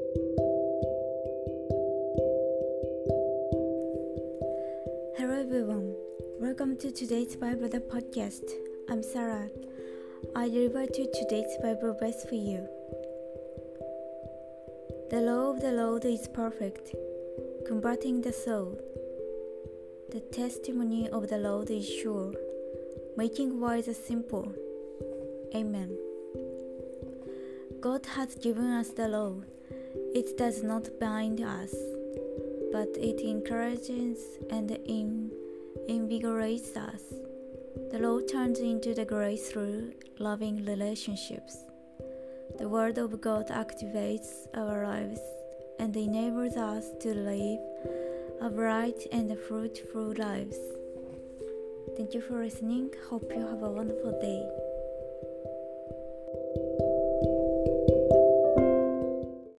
Hello everyone, welcome to today's Bible podcast. I'm Sarah. I deliver to today's Bible verse for you. The law of the Lord is perfect, converting the soul. The testimony of the Lord is sure, making wise the simple. Amen. God has given us the law. It does not bind us, but it encourages and invigorates us. The law turns into the grace through loving relationships. The Word of God activates our lives and enables us to live a bright and fruitful lives. Thank you for listening. Hope you have a wonderful day.